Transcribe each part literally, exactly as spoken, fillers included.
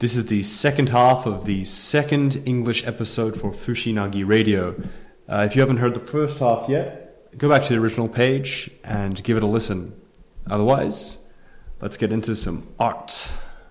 This is the second half of the second English episode for Fushinagi Radio. Uh, if you haven't heard the first half yet, go back to the original page and give it a listen. Otherwise, let's get into some art.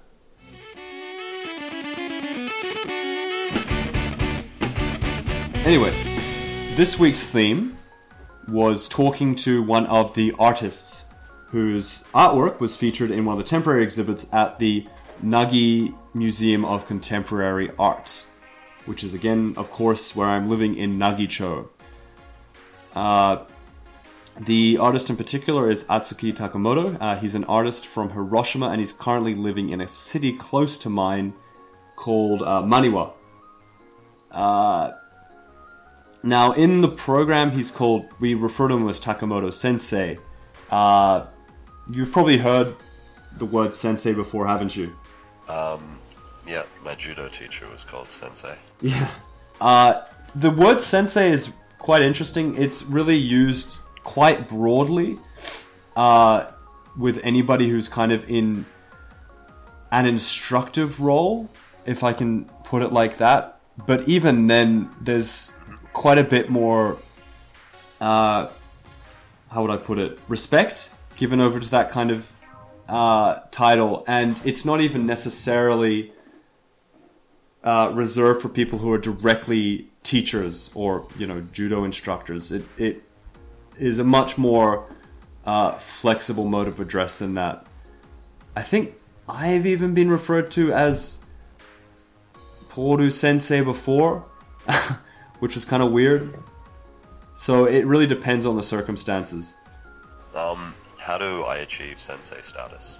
Anyway, this week's theme was talking to one of the artists whose artwork was featured in one of the temporary exhibits at the Nagi Museum of Contemporary Art, which is again, of course, where I'm living in Nagicho. Uh, the artist in particular is Atsuki Takamoto. Uh, he's an artist from Hiroshima, and he's currently living in a city close to mine called uh, Maniwa. Uh, now, in the program, he's called, we refer to him as Takamoto Sensei. Uh, you've probably heard the word sensei before, haven't you? Um, yeah, my judo teacher was called Sensei. Yeah. Uh, the word sensei is quite interesting. It's really used quite broadly uh, with anybody who's kind of in an instructive role, if I can put it like that. But even then, there's quite a bit more, uh, how would I put it, respect given over to that kind of Uh, title, and it's not even necessarily uh, reserved for people who are directly teachers or, you know, judo instructors. It it is a much more uh, flexible mode of address than that. I think I've even been referred to as Poru Sensei before, which is kind of weird. So it really depends on the circumstances. Um. How do I achieve sensei status?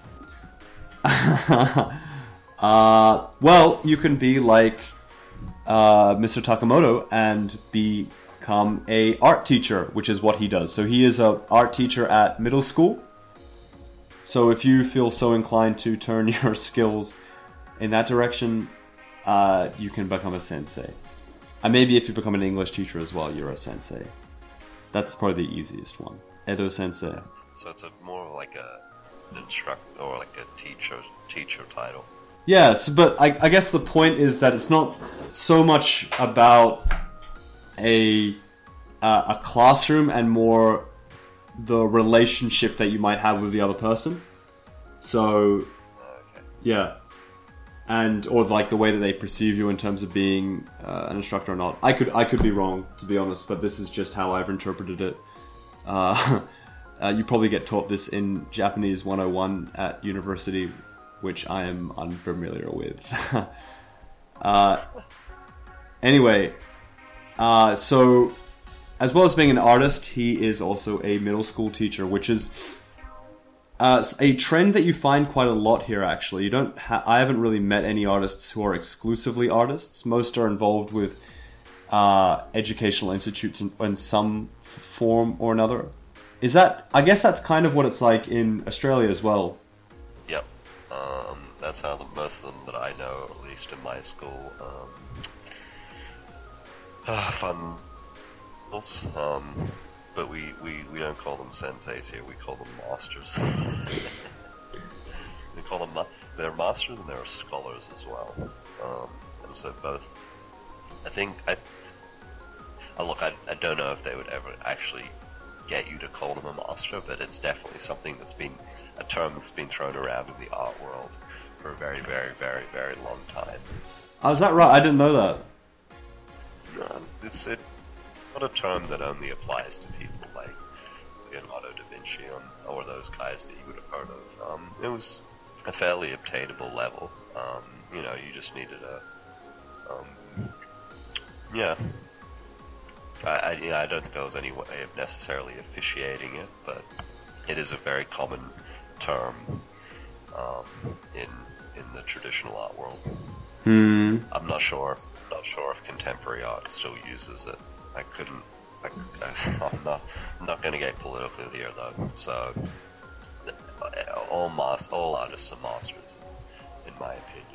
uh, well, you can be like uh, Mister Takamoto and become a art teacher, which is what he does. So he is an art teacher at middle school. So if you feel so inclined to turn your skills in that direction, uh, you can become a sensei. And maybe if you become an English teacher as well, you're a sensei. That's probably the easiest one. Edo Sensei. So it's a more like a an instructor or like a teacher teacher title. Yes, but I, I guess the point is that it's not so much about a uh, a classroom and more the relationship that you might have with the other person. So, Okay. yeah, and or like the way that they perceive you in terms of being uh, an instructor or not. I could I could be wrong, to be honest, but this is just how I've interpreted it. Uh, uh, you probably get taught this in Japanese one oh one at university, which I am unfamiliar with. uh, anyway, uh, so as well as being an artist, he is also a middle school teacher, which is uh, a trend that you find quite a lot here. Actually, you don't. Ha- I haven't really met any artists who are exclusively artists. Most are involved with uh, educational institutes in, in some form or another. Is that, I guess that's kind of what it's like in Australia as well. Yep. Um, that's how the, most of them that I know, at least in my school, um, uh, fun. Um, but we, we, we don't call them senseis here. We call them masters. we call them they're masters and they're scholars as well. Um, and so both. I think I. Oh, look, I, I don't know if they would ever actually get you to call them a master, but it's definitely something that's been a term that's been thrown around in the art world for a very, very, very, very long time. Oh, is that right? I didn't know that. Um, it's it, not a term that only applies to people like Leonardo da Vinci or, or those guys that you would have heard of. Um, it was a fairly obtainable level. Um, you know, you just needed a, um, yeah. I, I, you know, I don't think there was any way of necessarily officiating it, but it is a very common term um, in in the traditional art world. Hmm. I'm not sure. If, not sure if contemporary art still uses it. I couldn't. I, I, I'm not. I'm not going to get political here, though. So, all mas- all artists are masters, in my opinion.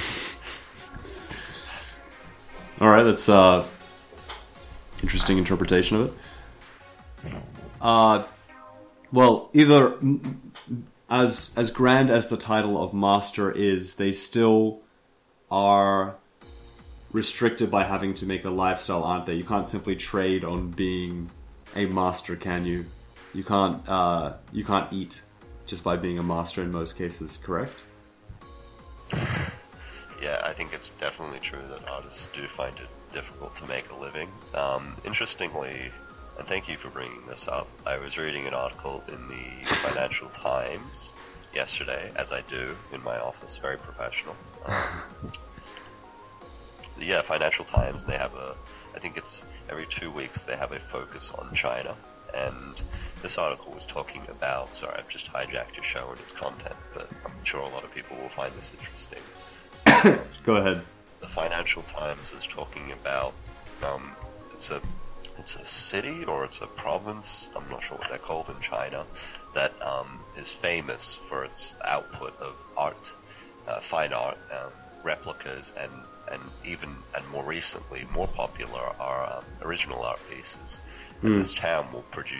All right, that's uh. interesting interpretation of it. Uh, well, either as as grand as the title of master is, they still are restricted by having to make a lifestyle, aren't they? You can't simply trade on being a master, can you? You can't uh, you can't eat just by being a master in most cases, correct? Yeah, I think it's definitely true that artists do find it difficult to make a living. Um, interestingly, and thank you for bringing this up, I was reading an article in the Financial Times yesterday, as I do in my office, very professional. Um, yeah, Financial Times, they have a, I think it's every two weeks they have a focus on China, and this article was talking about, sorry, I've just hijacked your show and its content, but I'm sure a lot of people will find this interesting. Go ahead. The Financial Times was talking about, um, it's a it's a city or it's a province, I'm not sure what they're called in China, that um, is famous for its output of art, uh, fine art, um, replicas, and, and even, and more recently, more popular are um, original art pieces. And Mm. this town will produce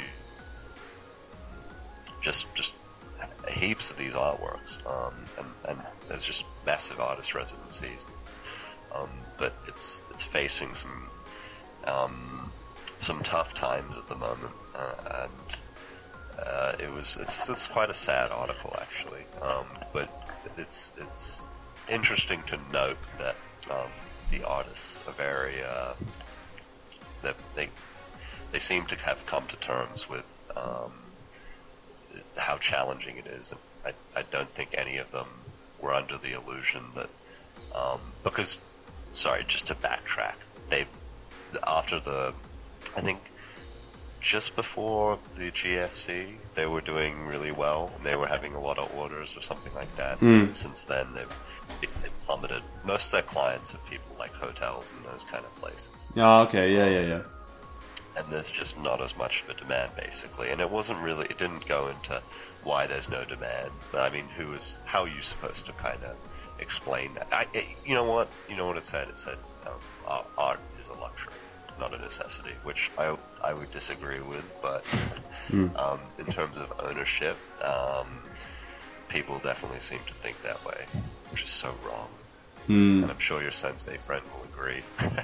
just just heaps of these artworks, um, and, and there's just massive artist residencies. Um, but it's it's facing some um, some tough times at the moment, uh, and uh, it was it's it's quite a sad article actually. Um, but it's it's interesting to note that um, the artists are very uh, that they they seem to have come to terms with um, how challenging it is. I I don't think any of them were under the illusion that um, because sorry, just to backtrack, they after the I think just before the G F C they were doing really well. They were having a lot of orders or something like that. Mm. Since then they've, they've plummeted. Most of their clients are people like hotels and those kind of places. Oh, okay, yeah, yeah, yeah. And there's just not as much of a demand, basically. And it wasn't really, it didn't go into why there's no demand. But I mean, who is, how are you supposed to kind of explain that? I, it, you know what, you know what it said? It said um, art, art is a luxury, not a necessity, which I, I would disagree with. But Mm. um, in terms of ownership, um, people definitely seem to think that way, which is so wrong. Mm. And I'm sure your sensei friend will agree.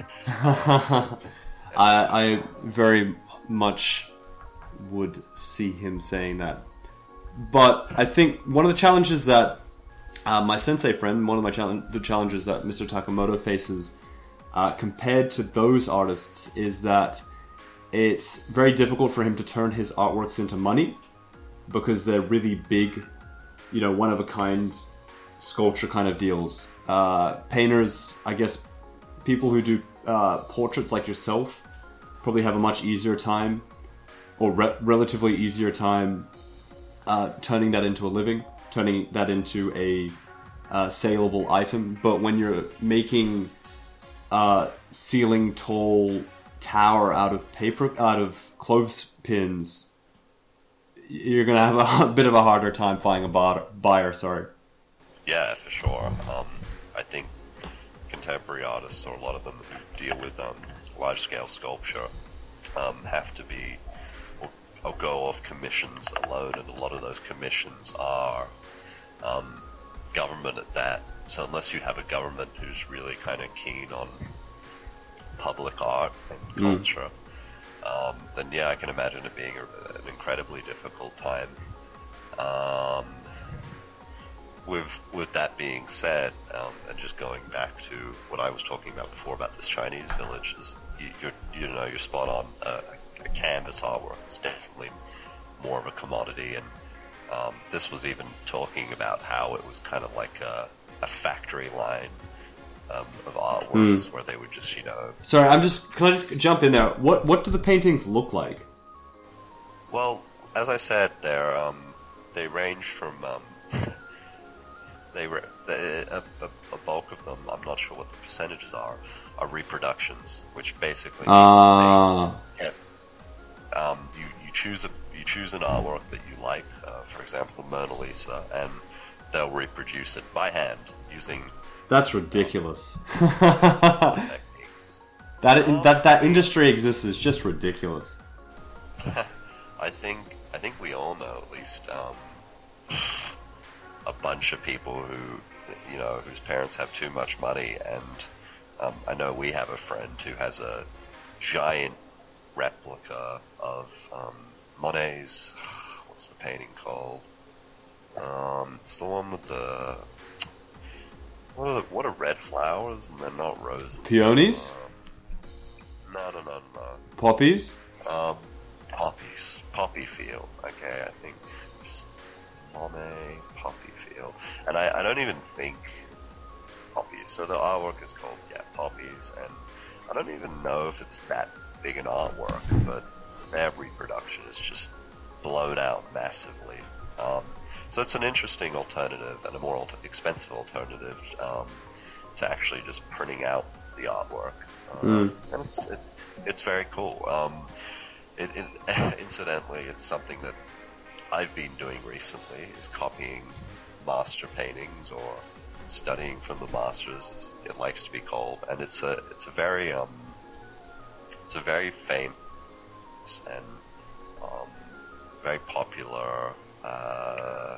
I, I very much would see him saying that. But I think one of the challenges that uh, my sensei friend, one of my challenge, the challenges that Mister Takamoto faces uh, compared to those artists is that it's very difficult for him to turn his artworks into money because they're really big, you know, one-of-a-kind sculpture kind of deals. Uh, painters, I guess, people who do uh, portraits like yourself probably have a much easier time, or re- relatively easier time, uh, turning that into a living, turning that into a uh, saleable item. But when you're making a ceiling tall tower out of paper, out of clothespins, you're gonna have a bit of a harder time finding a bar- buyer. Sorry. Yeah, for sure. Um, I think contemporary artists, or a lot of them who deal with um, large-scale sculpture, um, have to be or, or go off commissions alone, and a lot of those commissions are um, government at that. So unless you have a government who's really kind of keen on public art and culture, mm. um, then yeah, I can imagine it being a, an incredibly difficult time. Um, With with that being said, um, and just going back to what I was talking about before about this Chinese village, is you you're, you know you're spot on. Uh, a canvas artwork is definitely more of a commodity, and um, this was even talking about how it was kind of like a, a factory line um, of artworks mm. where they would just you know. Sorry, I'm just. Can I just jump in there? What what do the paintings look like? Well, as I said, they're um, they range from. Um, They were a, a, a bulk of them. I'm not sure what the percentages are. Are reproductions, which basically means uh. they, yeah, um, you you choose a you choose an artwork that you like, uh, for example, the Mona Lisa, and they'll reproduce it by hand using. That's ridiculous. techniques. That um, that that industry exists is just ridiculous. I think I think we all know at least. Um, a bunch of people who you know, whose parents have too much money. And um, I know we have a friend who has a giant replica of um, Monet's, what's the painting called? Um, it's the one with the, what are the, what are red flowers and they're not roses? Peonies? Um, no, no, no, no. Poppies? Um, poppies. Poppy field. Okay, I think it's Monet Poppy field. And I, I don't even think poppies. So the artwork is called, yeah, Poppies. And I don't even know if it's that big an artwork, but their reproduction is just blown out massively. Um, so it's an interesting alternative and a more alter- expensive alternative um, to actually just printing out the artwork. Um, mm. And it's it, it's very cool. Um, it, it, incidentally, it's something that I've been doing recently, is copying master paintings or studying from the masters, as it likes to be called. And it's a it's a very um, it's a very famous and um, very popular uh,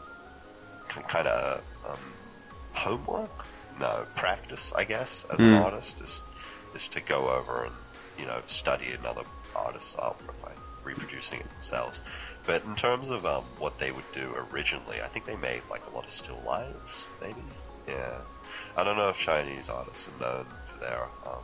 kind of um, homework, no practice, I guess, as mm. an artist, is is to go over and, you know, study another artist's artwork by reproducing it themselves. But in terms of um, what they would do originally, I think they made like a lot of still lifes, maybe. Yeah, I don't know if Chinese artists are known for their. Um,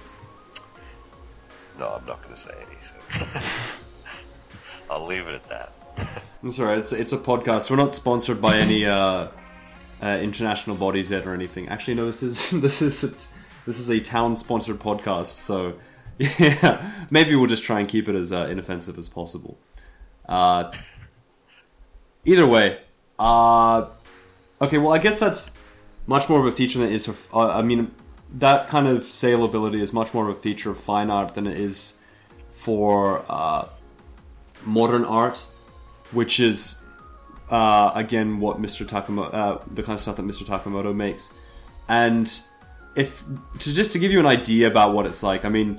no, I'm not going to say anything. I'll leave it at that. That's alright. It's it's a podcast. We're not sponsored by any uh, uh, international bodies yet or anything. Actually, no. This is this is a, this is a town-sponsored podcast. So yeah, maybe we'll just try and keep it as uh, inoffensive as possible. Uh, either way, uh, okay. Well, I guess that's much more of a feature than it is. For, uh, I mean, that kind of saleability is much more of a feature of fine art than it is for uh, modern art, which is uh, again what Mister Takamoto, uh, the kind of stuff that Mister Takamoto makes. And if to just to give you an idea about what it's like, I mean,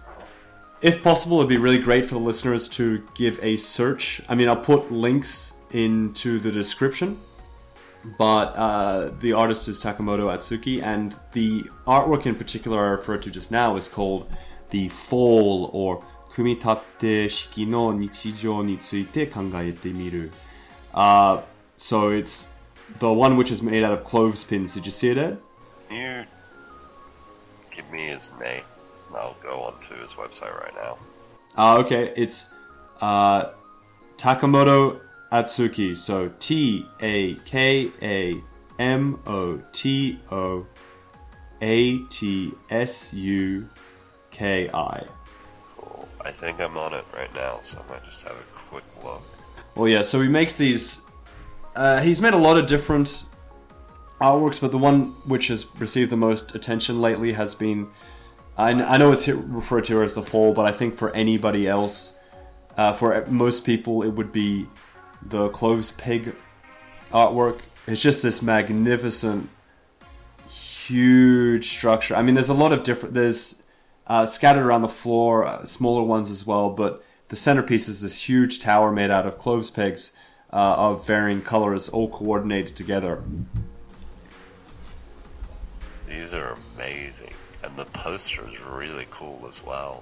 if possible, it'd be really great for the listeners to give a search. I mean, I'll put links into the description, but uh, the artist is Takamoto Atsuki, and the artwork in particular I referred to just now is called the Fall, or Kumitatte Shiki no Nichijou ni tsuite kangaete miru. Uh, so it's the one which is made out of clothespins. Did you see it, Ed? Can you give me his name? I'll go on to his website right now. Uh, okay, it's uh, Takamoto Atsuki. So T A K A M O T O A T S U K I. Cool. I think I'm on it right now, so I might just have a quick look. Well, yeah, so he makes these... Uh, he's made a lot of different artworks, but the one which has received the most attention lately has been... I, I know it's referred to as the Fall, but I think for anybody else, uh, for most people, it would be the Cloves Pig artwork. It's just this magnificent, huge structure. I mean, there's a lot of different... There's uh, scattered around the floor, uh, smaller ones as well, but the centerpiece is this huge tower made out of cloves pegs uh, of varying colors, all coordinated together. These are amazing. And the poster is really cool as well.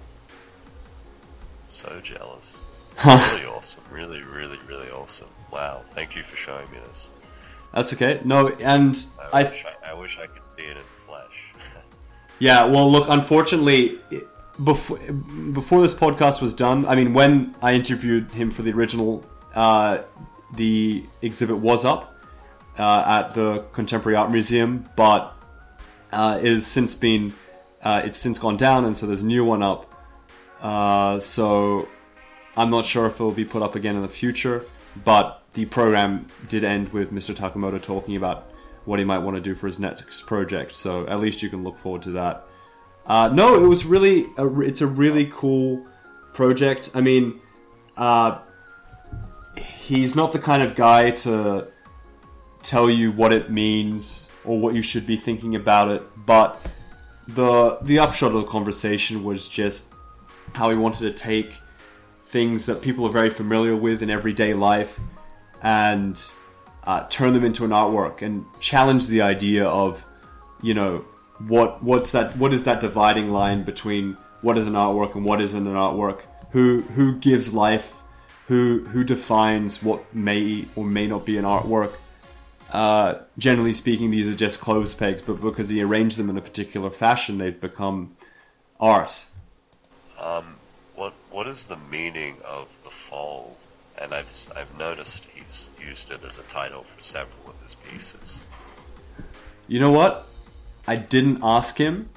So jealous. Really awesome. Really, really, really awesome. Wow. Thank you for showing me this. That's okay. No, and I I... Wish I, I wish I could see it in flesh. Yeah, well, look, unfortunately, before, before this podcast was done, I mean, when I interviewed him for the original, uh, the exhibit was up uh, at the Contemporary Art Museum, but uh, it has since been... Uh, it's since gone down, and so there's a new one up. Uh, so I'm not sure if it will be put up again in the future, but the program did end with Mister Takamoto talking about what he might want to do for his next project. So at least you can look forward to that. Uh, no, it was really, a, it's a really cool project. I mean, uh, he's not the kind of guy to tell you what it means or what you should be thinking about it, but the the upshot of the conversation was just how he wanted to take things that people are very familiar with in everyday life and uh, turn them into an artwork and challenge the idea of, you know, what what's that? What is that dividing line between what is an artwork and what isn't an artwork? Who who gives life? Who who defines what may or may not be an artwork? Uh, generally speaking, these are just clothes pegs, but because he arranged them in a particular fashion, they've become art. Um, what what is the meaning of the fall? And I've I've noticed he's used it as a title for several of his pieces. You know what? I didn't ask him,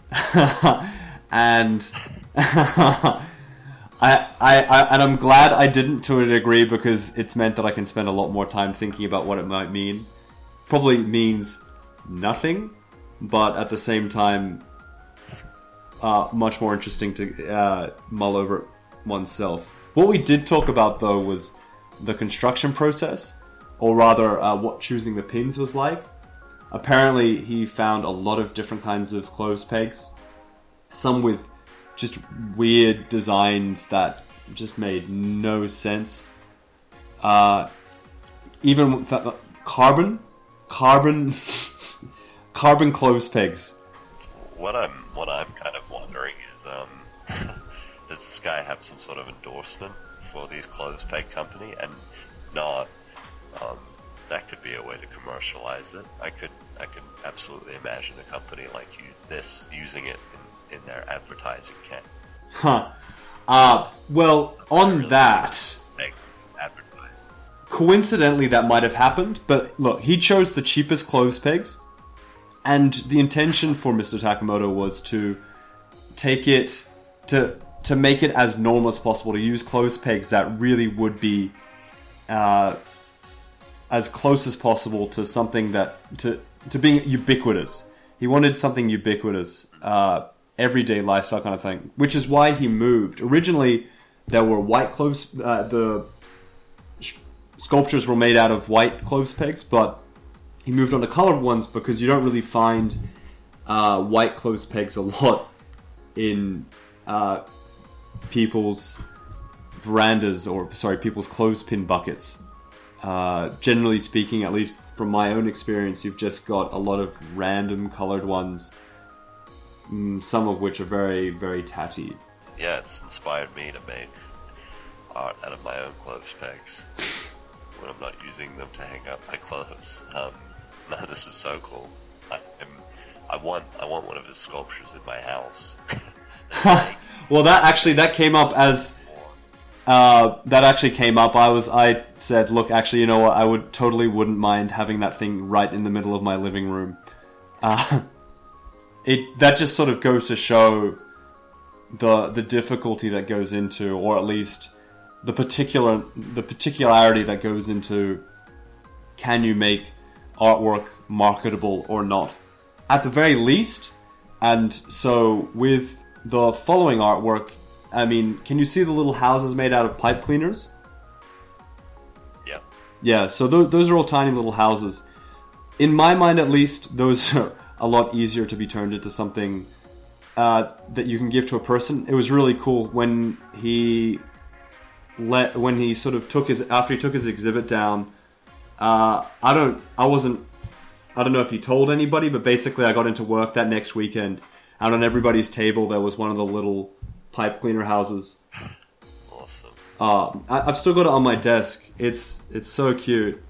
and I, I I and I'm glad I didn't to a degree, because it's meant that I can spend a lot more time thinking about what it might mean. Probably means nothing, but at the same time, uh, much more interesting to uh, mull over oneself. What we did talk about, though, was the construction process, or rather, uh, what choosing the pins was like. Apparently, he found a lot of different kinds of clothes pegs, some with just weird designs that just made no sense. Uh, even with that, carbon. Carbon, carbon clothes pegs. What I'm, what I'm kind of wondering is, um, does this guy have some sort of endorsement for these clothes peg company? And not, um, that could be a way to commercialize it. I could, I could absolutely imagine a company like you, this using it in, in their advertising kit. Huh. Uh, well, on really that. Coincidentally, that might have happened, but look, he chose the cheapest clothes pegs, and the intention for Mister Takamoto was to take it, to to make it as normal as possible, to use clothes pegs that really would be uh, as close as possible to something that, to, to being ubiquitous. He wanted something ubiquitous, uh, everyday lifestyle kind of thing, which is why he moved. Originally, there were white clothes, uh, the sculptures were made out of white clothes pegs, but he moved on to colored ones because you don't really find uh, white clothes pegs a lot in uh, people's verandas, or sorry, people's clothespin buckets. Uh, generally speaking, at least from my own experience, you've just got a lot of random colored ones, some of which are very, very tatty. Yeah, it's inspired me to make art out of my own clothes pegs when I'm not using them to hang up my clothes. Um, no, this is so cool. I, I'm, I want, I want one of his sculptures in my house. Well, that actually that came up as uh, that actually came up. I was, I said, look, actually, you know what? I would totally wouldn't mind having that thing right in the middle of my living room. Uh, it that just sort of goes to show the the difficulty that goes into, or at least the particular the particularity that goes into, can you make artwork marketable or not? At the very least. And so with the following artwork, I mean, can you see the little houses made out of pipe cleaners? Yeah. Yeah, so those, those are all tiny little houses. In my mind, at least, those are a lot easier to be turned into something uh, that you can give to a person. It was really cool when he let when he sort of took his after he took his exhibit down. Uh, I don't, I wasn't, I don't know if he told anybody, but basically, I got into work that next weekend, and on everybody's table there was one of the little pipe cleaner houses. Awesome. Uh, I, I've still got it on my desk. It's it's so cute.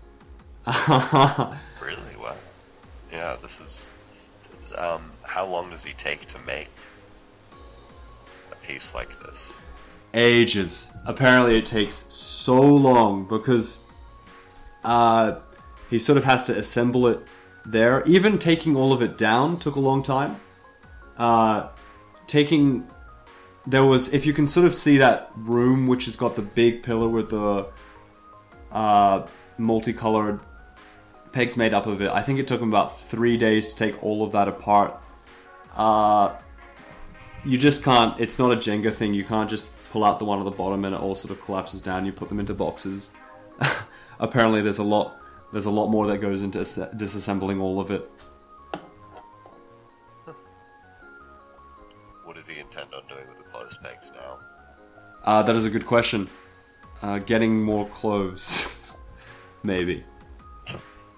Really? Wow. Yeah, this is. It's, um, how long does he take to make a piece like this? Ages. Apparently, it takes so long because uh, he sort of has to assemble it there. Even taking all of it down took a long time. Uh, taking there was, if you can sort of see that room which has got the big pillar with the uh, multicolored pegs made up of it, I think it took him about three days to take all of that apart. Uh, you just can't, it's not a Jenga thing, you can't just pull out the one at the bottom and it all sort of collapses down, you put them into boxes. Apparently there's a lot there's a lot more that goes into disassembling all of it. What does he intend on doing with the clothes pegs now? Uh, that is a good question. Uh, getting more clothes. Maybe.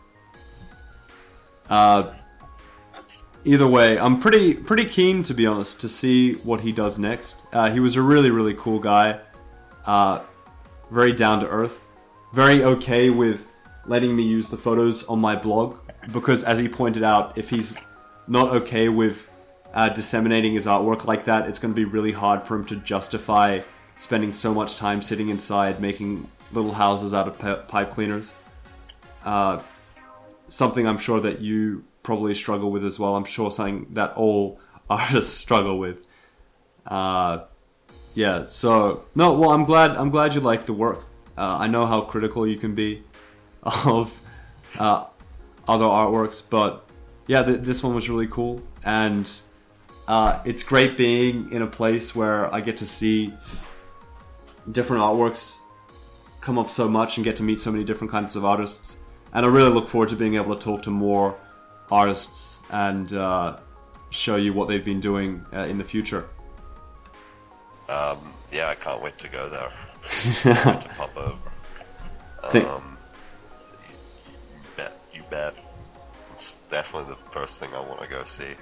Uh, either way, I'm pretty pretty keen, to be honest, to see what he does next. Uh, he was a really, really cool guy. Uh, very down to earth. Very okay with letting me use the photos on my blog. Because, as he pointed out, if he's not okay with uh, disseminating his artwork like that, it's going to be really hard for him to justify spending so much time sitting inside making little houses out of p- pipe cleaners. Uh, something I'm sure that you probably struggle with as well. I'm sure something that all artists struggle with. Uh, yeah, so no, well, I'm glad I'm glad you like the work. Uh, I know how critical you can be of uh, other artworks, but yeah, th- this one was really cool, and uh, it's great being in a place where I get to see different artworks come up so much and get to meet so many different kinds of artists. And I really look forward to being able to talk to more artists and uh, show you what they've been doing uh, in the future. Um, yeah, I can't wait to go there. Can't wait to pop over. Think- Um, you, you bet, you bet. It's definitely the first thing I want to go see.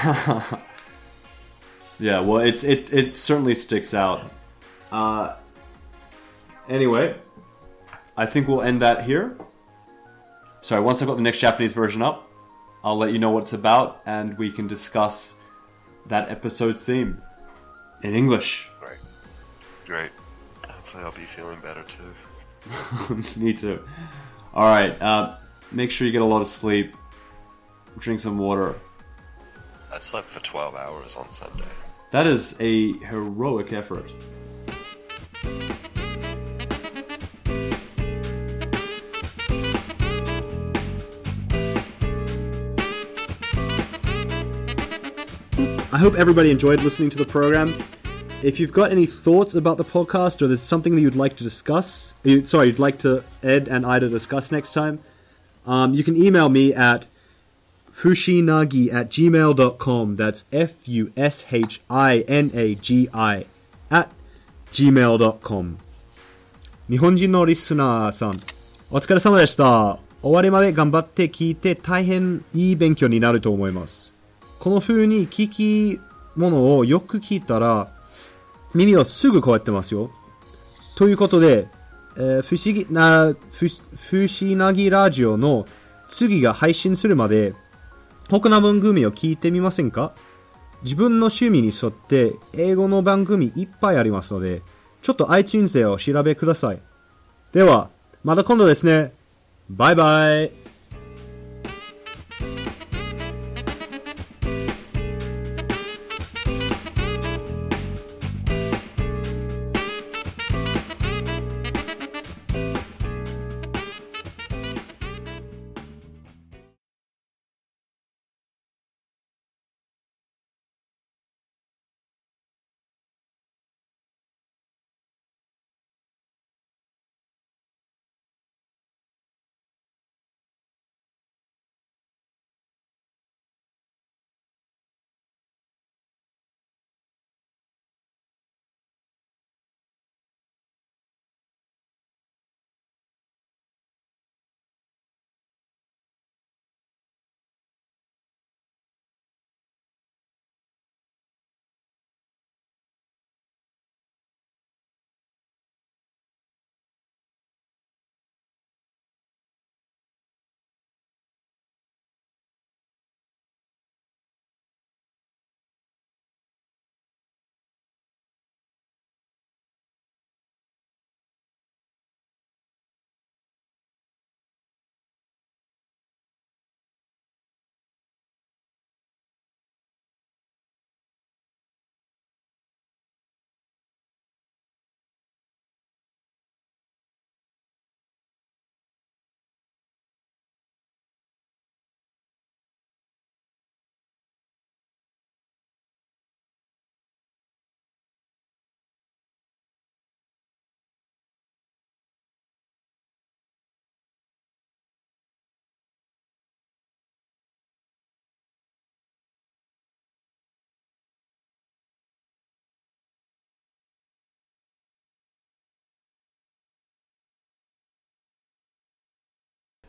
Yeah, well, it's it it certainly sticks out. Uh, anyway, I think we'll end that here. Sorry, once I've got the next Japanese version up, I'll let you know what it's about, and we can discuss that episode's theme in English. Great. Great. Hopefully I'll be feeling better too. Me too. Alright, uh, make sure you get a lot of sleep. Drink some water. I slept for twelve hours on Sunday. That is a heroic effort. I hope everybody enjoyed listening to the program. If you've got any thoughts about the podcast, or there's something that you'd like to discuss, you, sorry, you'd like to Ed and Ida discuss next time, um, you can email me at fushinagi at gmail dot com. That's F U S H I N A G I at gmail dot com. 日本人のリスナーさん、お疲れ様でした。終わりまで頑張って聞いて大変いい勉強になると思います。この風に聞き物をよく聞いたら耳をすぐこうやってますよ。ということで、えー、不思議なふ不思なぎラジオの次が配信するまで他の番組を聞いてみませんか？自分の趣味に沿って英語の番組いっぱいありますので、ちょっと iTunes でお調べください。では、また今度ですね。バイバイ。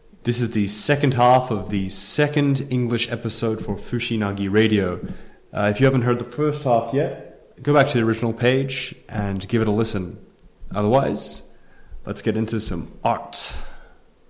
This is the second half of the second English episode for Fushinagi Radio. Uh, if you haven't heard the first half yet, go back to the original page and give it a listen. Otherwise, let's get into some art.